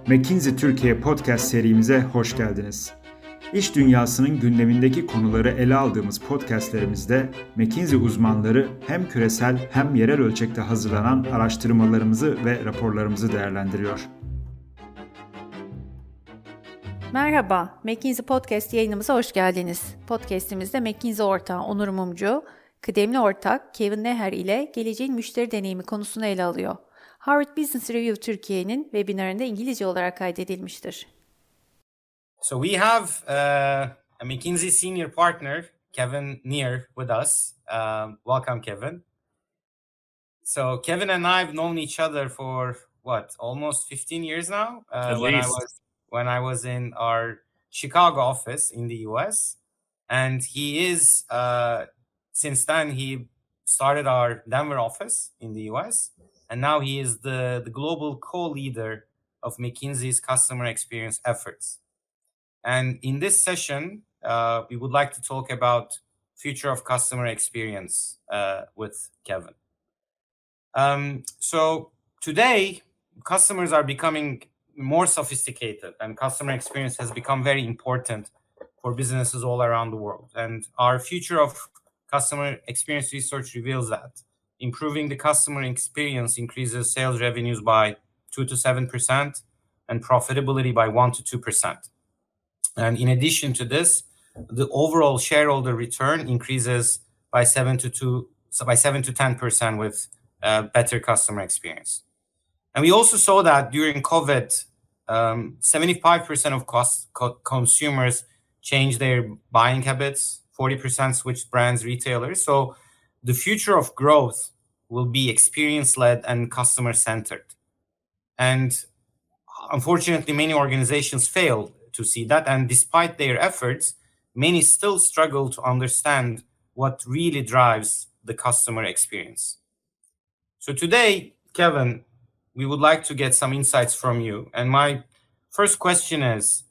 McKinsey Türkiye podcast serimize hoş geldiniz. İş dünyasının gündemindeki konuları ele aldığımız podcastlerimizde McKinsey uzmanları hem küresel hem yerel ölçekte hazırlanan araştırmalarımızı ve raporlarımızı değerlendiriyor. Merhaba, McKinsey Podcast yayınımıza hoş geldiniz. Podcast'imizde McKinsey ortağı Onur Mumcu, kıdemli ortak Kevin Neher ile geleceğin müşteri deneyimi konusunu ele alıyor. Harvard Business Review Türkiye'nin webinarında İngilizce olarak kaydedilmiştir. So we have a McKinsey senior partner, Kevin Neher, with us. Welcome, Kevin. So Kevin and I have known each other for almost 15 years now. When I was in our Chicago office in the US, and he is since then he started our Denver office in the US, and now he is the global co-leader of McKinsey's customer experience efforts. And in this session, we would like to talk about future of customer experience with Kevin. So today, customers are becoming more sophisticated, and customer experience has become very important for businesses all around the world. And our future of customer experience research reveals that improving the customer experience increases sales revenues by 2 to 7% and profitability by 1 to 2%. And in addition to this, the overall shareholder return increases by 7 to 10% with better customer experience. And we also saw that during COVID, 75% of consumers changed their buying habits, 40% switched brands, retailers. So the future of growth will be experience-led and customer-centered. And unfortunately, many organizations fail to see that. And despite their efforts, many still struggle to understand what really drives the customer experience. So today, Kevin, we would like to get some insights from you. And my first question is,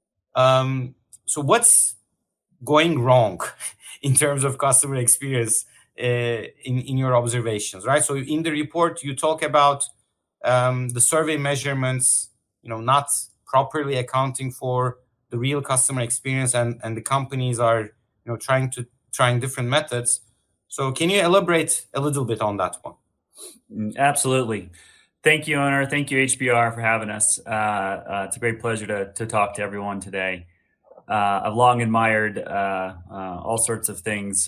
so what's going wrong in terms of customer experience in your observations, right? So in the report, you talk about the survey measurements, not properly accounting for the real customer experience, and the companies are, trying different methods. So can you elaborate a little bit on that one? Absolutely. Thank you, Onur. Thank you, HBR, for having us. It's a great pleasure to talk to everyone today. I've long admired all sorts of things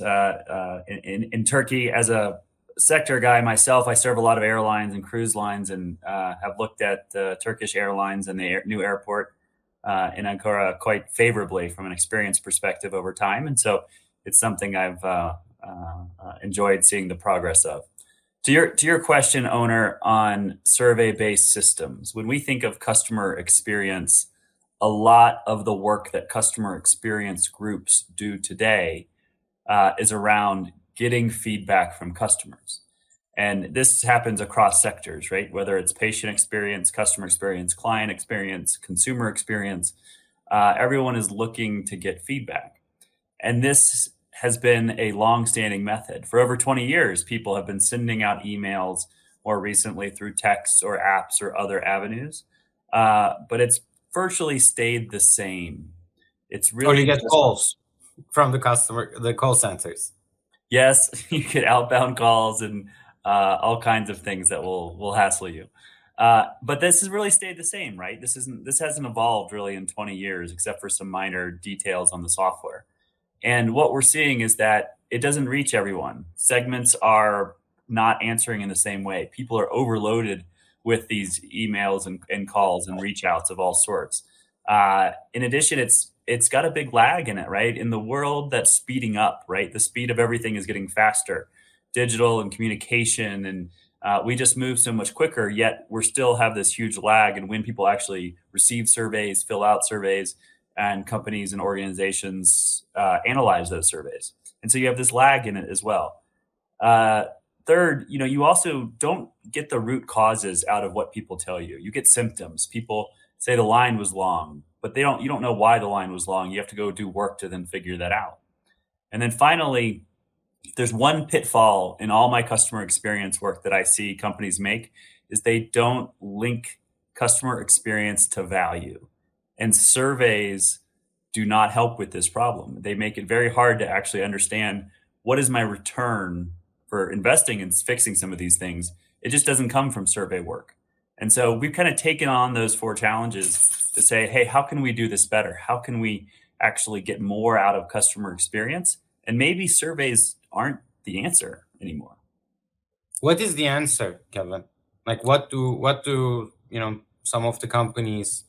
in Turkey. As a sector guy myself, I serve a lot of airlines and cruise lines, and have looked at the Turkish Airlines and the new airport in Ankara quite favorably from an experience perspective over time. And so it's something I've enjoyed seeing the progress of. To your question, Onur, on survey-based systems, when we think of customer experience, a lot of the work that customer experience groups do today is around getting feedback from customers. And this happens across sectors, right? Whether it's patient experience, customer experience, client experience, consumer experience, everyone is looking to get feedback. And this has been a long-standing method. For over 20 years, people have been sending out emails, more recently through texts or apps or other avenues. But it's virtually stayed the same. It's really— Or you get calls from the call centers. Yes, you get outbound calls and all kinds of things that will hassle you. But this has really stayed the same, right? This hasn't evolved really in 20 years, except for some minor details on the software. And what we're seeing is that it doesn't reach everyone. Segments are not answering in the same way. People are overloaded with these emails and calls and reach outs of all sorts. In addition, it's got a big lag in it, right? In the world that's speeding up, right? The speed of everything is getting faster, digital and communication. And we just move so much quicker, yet we still have this huge lag in when people actually receive surveys, fill out surveys, and companies and organizations analyze those surveys. And so you have this lag in it as well. Third, you also don't get the root causes out of what people tell you. You get symptoms. People say the line was long, but you don't know why the line was long. You have to go do work to then figure that out. And then finally, there's one pitfall in all my customer experience work that I see companies make is they don't link customer experience to value. And surveys do not help with this problem. They make it very hard to actually understand what is my return for investing in fixing some of these things. It just doesn't come from survey work. And so we've kind of taken on those 4 challenges to say, hey, how can we do this better? How can we actually get more out of customer experience? And maybe surveys aren't the answer anymore. What is the answer, Kevin? Like what do some of the companies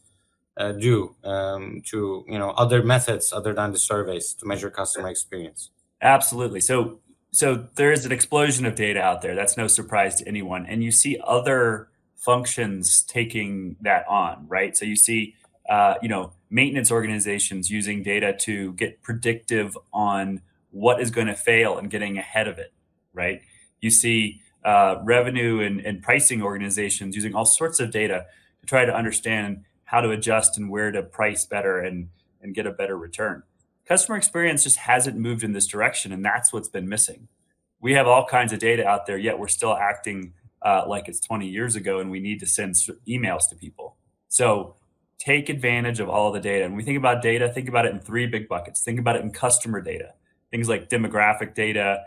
do to other methods other than the surveys to measure customer experience? Absolutely. So there is an explosion of data out there. That's no surprise to anyone. And you see other functions taking that on, right? So you see, maintenance organizations using data to get predictive on what is going to fail and getting ahead of it, right? You see revenue and pricing organizations using all sorts of data to try to understand how to adjust and where to price better and get a better return. Customer experience just hasn't moved in this direction, and that's what's been missing. We have all kinds of data out there, yet we're still acting like it's 20 years ago, and we need to send emails to people. So take advantage of all of the data. And when we think about data, think about it in 3 big buckets. Think about it in customer data, things like demographic data,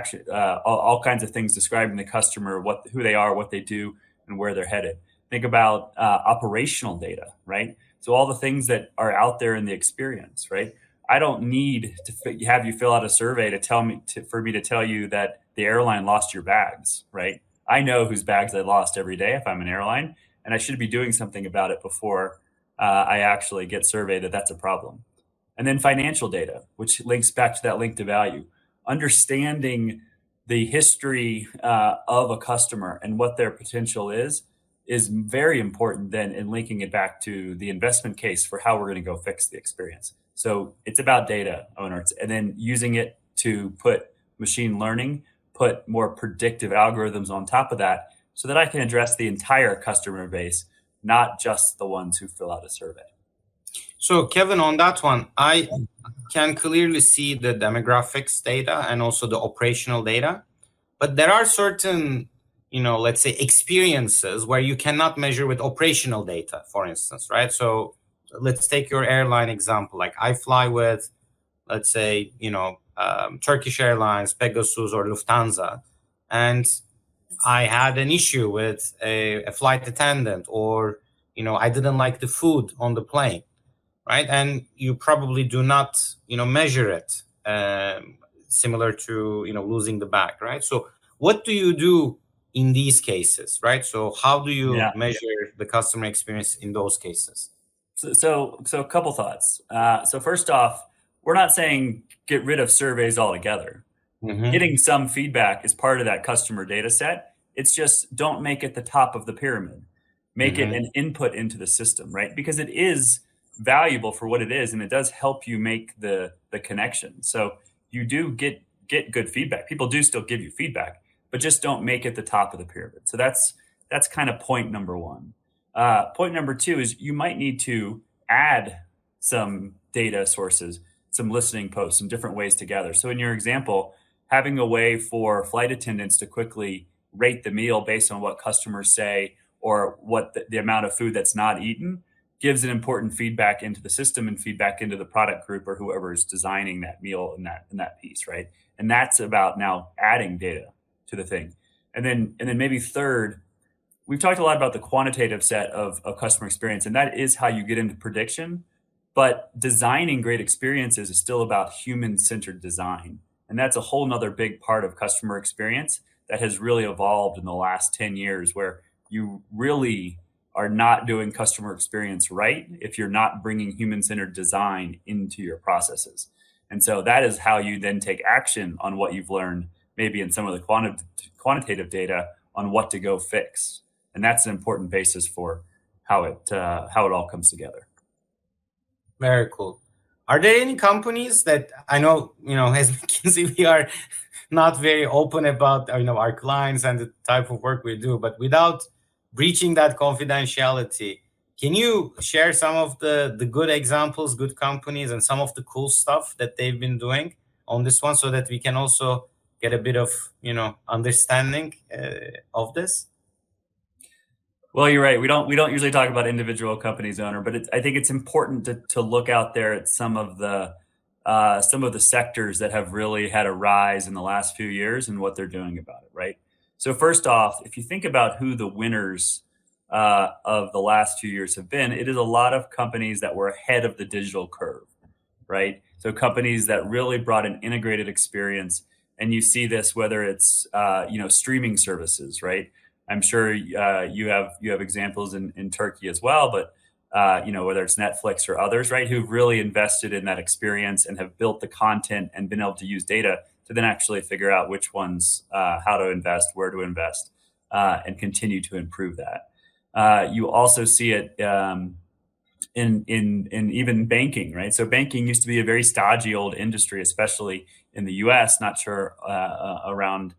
all kinds of things describing the customer, who they are, what they do, and where they're headed. Think about operational data, right? So all the things that are out there in the experience, right? I don't need to have you fill out a survey for me to tell you that the airline lost your bags, right? I know whose bags I lost every day if I'm an airline, and I should be doing something about it before I actually get surveyed that that's a problem. And then financial data, which links back to that link to value. Understanding the history of a customer and what their potential is very important then in linking it back to the investment case for how we're going to go fix the experience. So it's about data owners and then using it to put machine learning, put more predictive algorithms on top of that so that I can address the entire customer base, not just the ones who fill out a survey. So Kevin, on that one, I can clearly see the demographics data and also the operational data, but there are certain, let's say experiences where you cannot measure with operational data, for instance, right? So let's take your airline example. Like I fly with, let's say, Turkish Airlines, Pegasus, or Lufthansa, and I had an issue with a flight attendant, or, I didn't like the food on the plane, right? And you probably do not, measure it similar to, losing the bag, right? So what do you do in these cases, right? So how do you measure the customer experience in those cases? So a couple thoughts. So first off, we're not saying get rid of surveys altogether. Mm-hmm. Getting some feedback is part of that customer data set. It's just don't make it the top of the pyramid. Make it an input into the system, right? Because it is valuable for what it is, and it does help you make the connection. So you do get good feedback. People do still give you feedback, but just don't make it the top of the pyramid. So that's kind of point number 1. Point number 2 is you might need to add some data sources, some listening posts, some different ways to gather. So in your example, having a way for flight attendants to quickly rate the meal based on what customers say or what the amount of food that's not eaten gives an important feedback into the system and feedback into the product group or whoever is designing that meal in that piece, right? And that's about now adding data to the thing. And then maybe third, we've talked a lot about the quantitative set of customer experience, and that is how you get into prediction. But designing great experiences is still about human-centered design. And that's a whole nother big part of customer experience that has really evolved in the last 10 years, where you really are not doing customer experience right if you're not bringing human-centered design into your processes. And so that is how you then take action on what you've learned, maybe in some of the quantitative data on what to go fix. And that's an important basis for how it all comes together. Very cool. Are there any companies that I know, as McKinsey, we are not very open about, our clients and the type of work we do, but without breaching that confidentiality, can you share some of the good examples, good companies, and some of the cool stuff that they've been doing on this one so that we can also get a bit of, understanding of this? Well, you're right. We don't usually talk about individual companies owner, but I think it's important to look out there at some of the sectors that have really had a rise in the last few years and what they're doing about it, right? So first off, if you think about who the winners of the last few years have been, it is a lot of companies that were ahead of the digital curve, right? So companies that really brought an integrated experience, and you see this whether it's streaming services, right? I'm sure you have examples in Turkey as well, but whether it's Netflix or others, right, who've really invested in that experience and have built the content and been able to use data to then actually figure out which ones, how to invest, where to invest, and continue to improve that. You also see it in even banking, right? So banking used to be a very stodgy old industry, especially in the U.S. Not sure around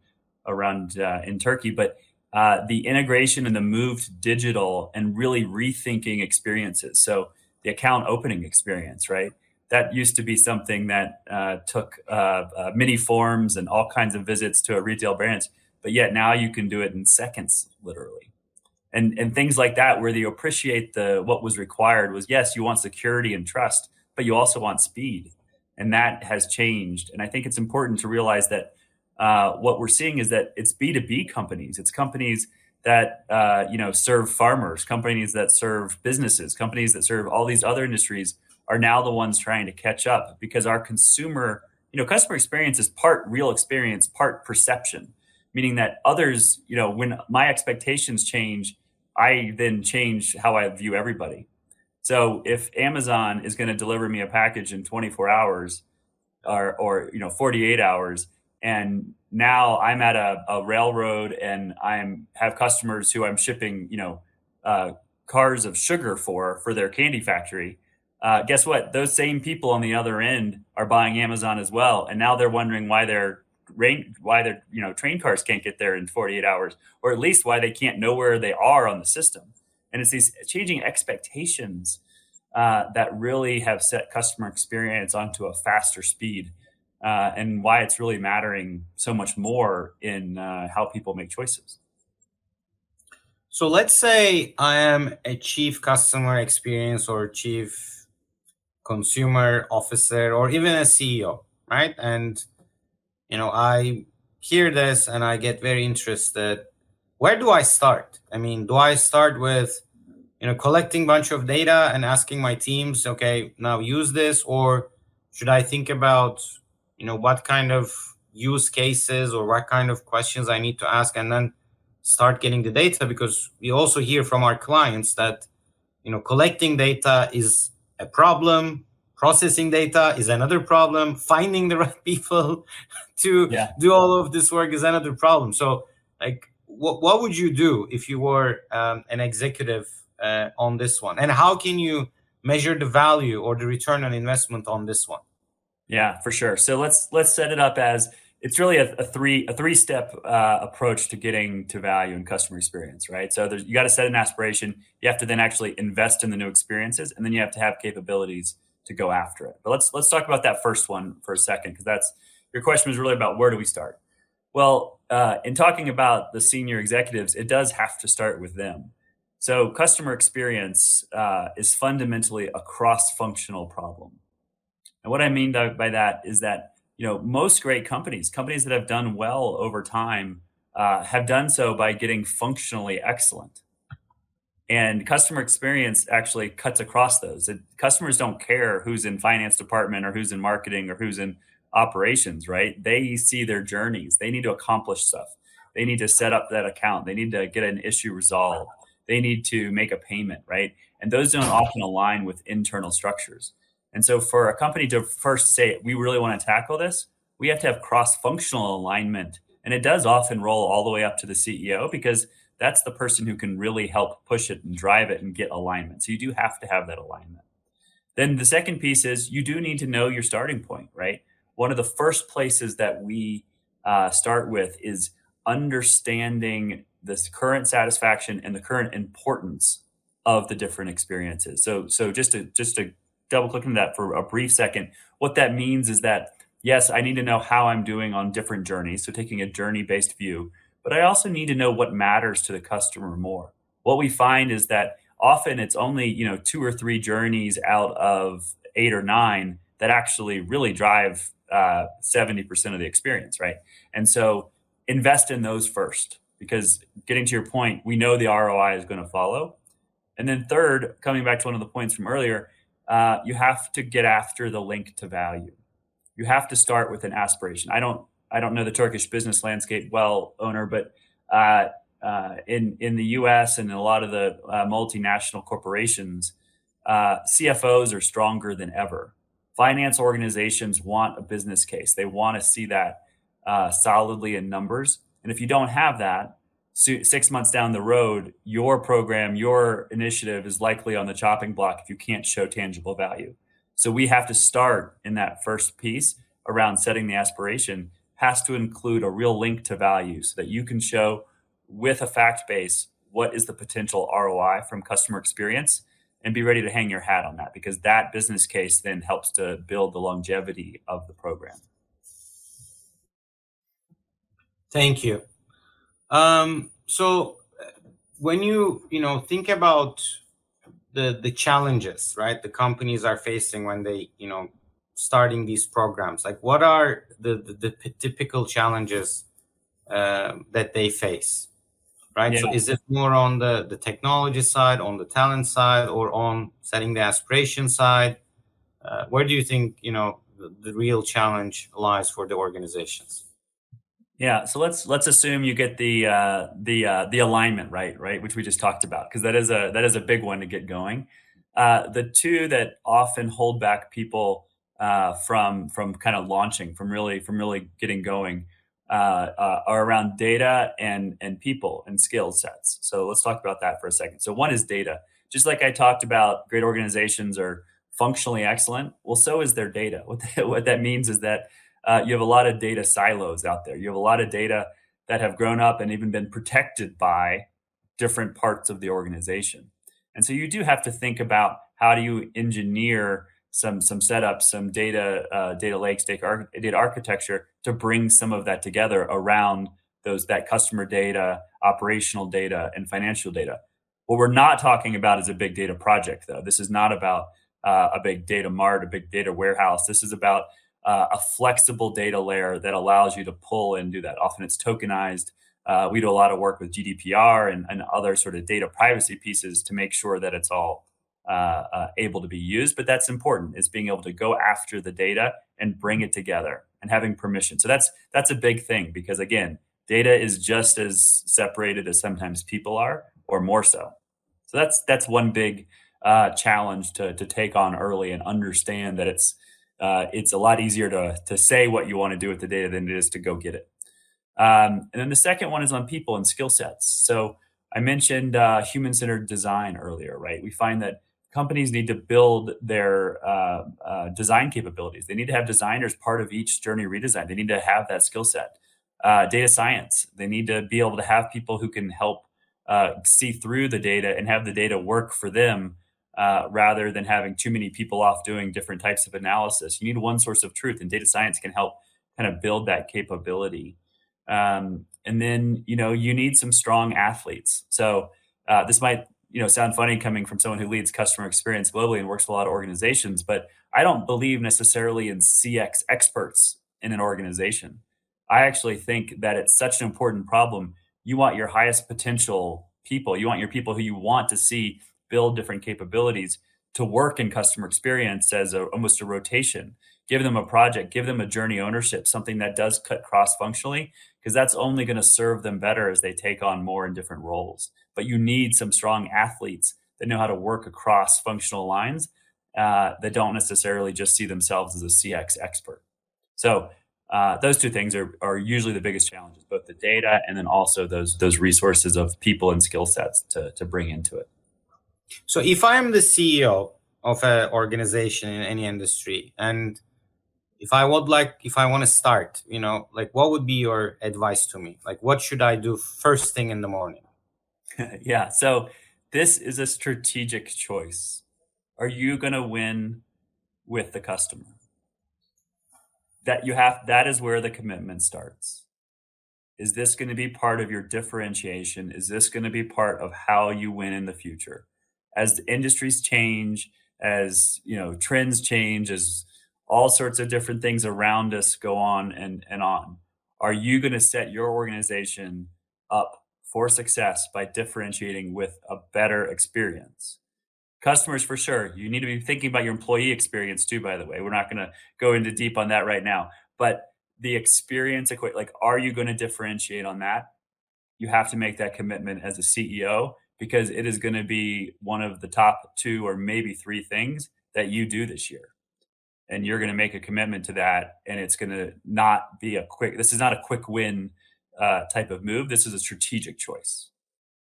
in Turkey, but the integration and the move to digital and really rethinking experiences. So the account opening experience, right? That used to be something that took many forms and all kinds of visits to a retail branch, but yet now you can do it in seconds, literally. And things like that, where you appreciate what was required was, yes, you want security and trust, but you also want speed. And that has changed. And I think it's important to realize that what we're seeing is that it's B2B companies. It's companies that serve farmers, companies that serve businesses, companies that serve all these other industries are now the ones trying to catch up, because our customer experience is part real experience, part perception, meaning that others, when my expectations change, I then change how I view everybody. So if Amazon is going to deliver me a package in 24 hours or 48 hours, and now I'm at a railroad and have customers who I'm shipping, cars of sugar for their candy factory. Guess what? Those same people on the other end are buying Amazon as well, and now they're wondering why their train cars can't get there in 48 hours, or at least why they can't know where they are on the system. And it's these changing expectations that really have set customer experience onto a faster speed. And why it's really mattering so much more in how people make choices. So let's say I am a chief customer experience or chief consumer officer or even a CEO, right? And, I hear this and I get very interested. Where do I start? I mean, do I start with, collecting a bunch of data and asking my teams, okay, now use this? Or should I think about what kind of use cases or what kind of questions I need to ask and then start getting the data? Because we also hear from our clients that, collecting data is a problem, processing data is another problem, finding the right people to do all of this work is another problem. So what would you do if you were an executive on this one? And how can you measure the value or the return on investment on this one? Yeah, for sure. So let's set it up as it's really a three-step approach to getting to value and customer experience, right? So you got to set an aspiration. You have to then actually invest in the new experiences, and then you have to have capabilities to go after it. But let's talk about that first one for a second, because your question was really about where do we start? Well, in talking about the senior executives, it does have to start with them. So customer experience is fundamentally a cross-functional problem. And what I mean by that is that, most great companies that have done well over time have done so by getting functionally excellent. And customer experience actually cuts across those. Customers don't care who's in finance department or who's in marketing or who's in operations, right? They see their journeys. They need to accomplish stuff. They need to set up that account. They need to get an issue resolved. They need to make a payment, right? And those don't often align with internal structures. And so for a company to first say, we really want to tackle this, we have to have cross-functional alignment. And it does often roll all the way up to the CEO, because that's the person who can really help push it and drive it and get alignment. So you do have to have that alignment. Then the second piece is you do need to know your starting point, right? One of the first places that we start with is understanding this current satisfaction and the current importance of the different experiences. So just to double click into that for a brief second, what that means is that, yes, I need to know how I'm doing on different journeys. So taking a journey-based view, but I also need to know what matters to the customer more. what we find is that often it's only 2 or 3 journeys out of 8 or 9 that actually really drive 70% of the experience, right? And so invest in those first, because getting to your point, we know the ROI is going to follow. And then third, coming back to one of the points from earlier, you have to get after the link to value. You have to start with an aspiration. I don't know the Turkish business landscape well, owner, but in the US and in a lot of the multinational corporations, CFOs are stronger than ever. Finance organizations want a business case. They want to see that solidly in numbers. And if you don't have that, 6 months down the road, your program, your initiative is likely on the chopping block if you can't show tangible value. So we have to start in that first piece around setting the aspiration, has to include a real link to value so that you can show with a fact base what is the potential ROI from customer experience, and be ready to hang your hat on that, because that business case then helps to build the longevity of the program. Thank you. So when you think about the challenges, right, the companies are facing when they starting these programs, like what are the typical challenges that they face, right? Yeah. So is it more on the technology side, on the talent side, or on setting the aspiration side? Where do you think the real challenge lies for the organizations? Yeah, so let's assume you get the alignment right, which we just talked about, because that is a big one to get going. The two that often hold back people from kind of launching, from really getting going, are around data and people and skill sets. So let's talk about that for a second. So one is data. Just like I talked about, great organizations are functionally excellent. Well, so is their data. What that means is that you have a lot of data silos out there. You have a lot of data that have grown up and even been protected by different parts of the organization. And so you do have to think about how do you engineer some setups, some data lakes, data architecture to bring some of that together around that customer data, operational data, and financial data. What we're not talking about is a big data project, though. This is not about a big data mart, a big data warehouse. This is about a flexible data layer that allows you to pull and do that. Often it's tokenized. We do a lot of work with GDPR and other sort of data privacy pieces to make sure that it's all able to be used. But that's important, is being able to go after the data and bring it together and having permission. So that's a big thing, because again, data is just as separated as sometimes people are, or more so. So that's one big challenge to take on early, and understand that it's a lot easier to say what you want to do with the data than it is to go get it. And then the second one is on people and skill sets. So I mentioned human-centered design earlier, right? We find that companies need to build their design capabilities. They need to have designers part of each journey redesign. They need to have that skill set. Data science, they need to be able to have people who can help see through the data and have the data work for them, rather than having too many people off doing different types of analysis. You need one source of truth, and data science can help kind of build that capability. And then, you need some strong athletes. So this might, sound funny coming from someone who leads customer experience globally and works with a lot of organizations, but I don't believe necessarily in CX experts in an organization. I actually think that it's such an important problem. You want your highest potential people. You want your people who you want to see build different capabilities to work in customer experience as almost a rotation. Give them a project, give them a journey ownership, something that does cut cross-functionally, because that's only going to serve them better as they take on more in different roles. But you need some strong athletes that know how to work across functional lines, that don't necessarily just see themselves as a CX expert. So those two things are usually the biggest challenges, both the data and then also those resources of people and skill sets to bring into it. So if I'm the CEO of an organization in any industry, and if I want to start, what would be your advice to me? Like, what should I do first thing in the morning? Yeah. So this is a strategic choice. Are you going to win with the customer? That is where the commitment starts. Is this going to be part of your differentiation? Is this going to be part of how you win in the future? As the industries change, as trends change, as all sorts of different things around us go on and on, are you going to set your organization up for success by differentiating with a better experience? Customers, for sure. You need to be thinking about your employee experience too, by the way. We're not going to go into deep on that right now. But the experience, like, are you going to differentiate on that? You have to make that commitment as a CEO, because it is going to be one of the top 2 or maybe 3 things that you do this year. And you're going to make a commitment to that. And it's going to not be this is not a quick win type of move. This is a strategic choice.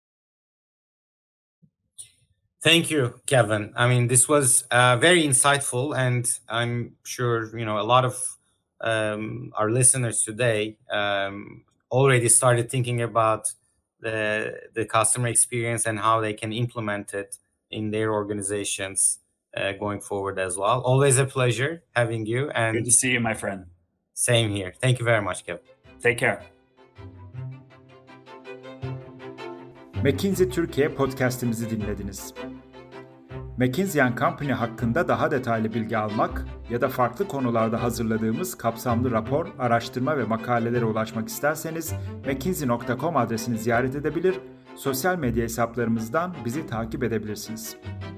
Thank you, Kevin. I mean, this was very insightful, and I'm sure, a lot of our listeners today already started thinking about the customer experience and how they can implement it in their organizations going forward as well. Always a pleasure having you. And good to see you, my friend. Same here. Thank you very much, Kevin. Take care. McKinsey Türkiye podcast'imizi dinlediniz. McKinsey & Company hakkında daha detaylı bilgi almak ya da farklı konularda hazırladığımız kapsamlı rapor, araştırma ve makalelere ulaşmak isterseniz mckinsey.com adresini ziyaret edebilir, sosyal medya hesaplarımızdan bizi takip edebilirsiniz.